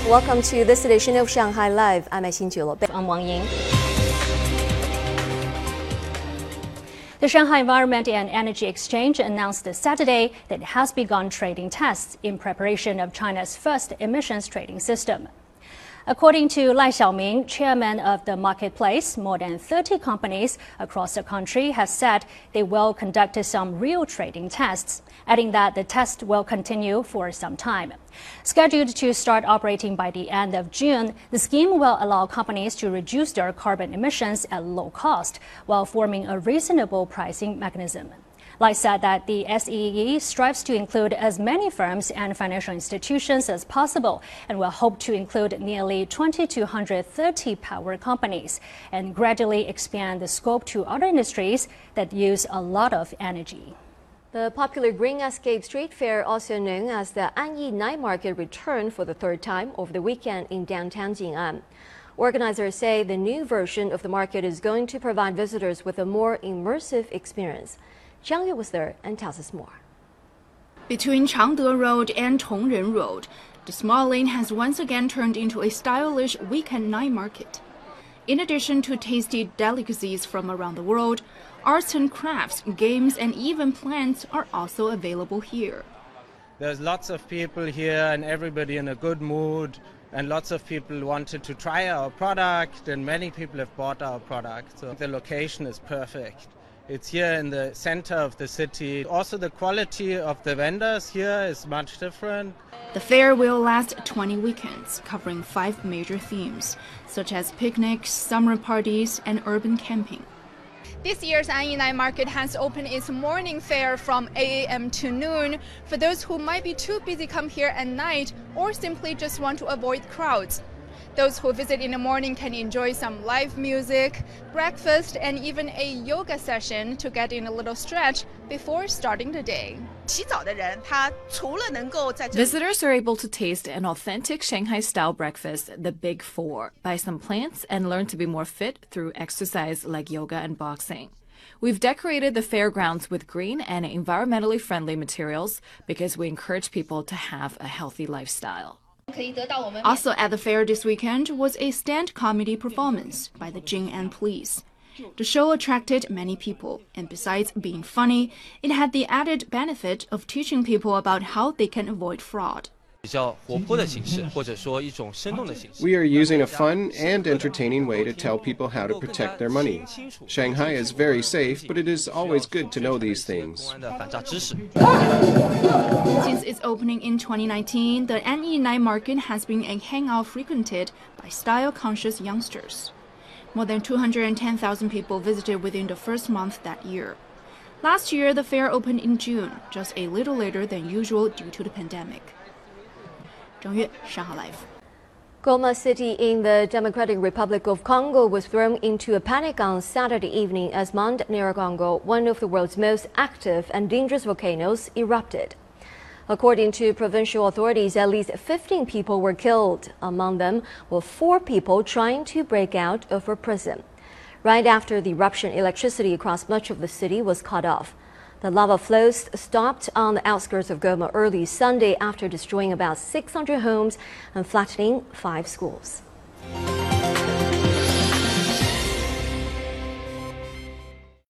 Welcome to this edition of Shanghai Live. I'm Wang Ying. The Shanghai Environment and Energy Exchange announced Saturday that it has begun trading tests in preparation of China's first emissions trading system. According to Lai Xiaoming, chairman of the marketplace, more than 30 companies across the country have said they will conduct some real trading tests, adding that the test will continue for some time. Scheduled to start operating by the end of June, the scheme will allow companies to reduce their carbon emissions at low cost while forming a reasonable pricing mechanism. Lai said that the SEE strives to include as many firms and financial institutions as possible and will hope to include nearly 2,230 power companies and gradually expand the scope to other industries that use a lot of energy. The popular Green Escape Street Fair, also known as the Anyi Night Market, returned for the third time over the weekend in downtown Jing'an. Organizers say the new version of the market is going to provide visitors with a more immersive experience. Zhang Yue was there and tells us more. Between Changde Road and Tongren Road, the small lane has once again turned into a stylish weekend night market. In addition to tasty delicacies from around the world, arts and crafts, games, and even plants are also available here. There's lots of people here and everybody in a good mood, and lots of people wanted to try our product, and many people have bought our product. So the location is perfect. It's here in the center of the city. Also, the quality of the vendors here is much different. The fair will last 20 weekends, covering 5 major themes, such as picnics, summer parties, and urban camping. This year's Anyi Night Market has opened its morning fair from 8 a.m. to noon for those who might be too busy to come here at night or simply just want to avoid crowds. Those who visit in the morning can enjoy some live music, breakfast, and even a yoga session to get in a little stretch before starting the day. Visitors are able to taste an authentic Shanghai-style breakfast, the Big Four, buy some plants, and learn to be more fit through exercise like yoga and boxing. We've decorated the fairgrounds with green and environmentally friendly materials because we encourage people to have a healthy lifestyle. Also at the fair this weekend was a stand comedy performance by the Jing'an Police. The show attracted many people, and besides being funny, it had the added benefit of teaching people about how they can avoid fraud. We are using a fun and entertaining way to tell people how to protect their money. Shanghai is very safe, but it is always good to know these things. Since its opening in 2019, the Anyi Night Market has been a hangout frequented by style-conscious youngsters. More than 210,000 people visited within the first month that year. Last year, the fair opened in June, just a little later than usual due to the pandemic. Zhang Yue, Shanghai Live. Goma City in the Democratic Republic of Congo was thrown into a panic on Saturday evening as Mount Nyiragongo, one of the world's most active and dangerous volcanoes, erupted. According to provincial authorities, at least 15 people were killed. Among them were 4 people trying to break out of a prison. Right after the eruption, electricity across much of the city was cut off. The lava flows stopped on the outskirts of Goma early Sunday after destroying about 600 homes and flattening 5 schools.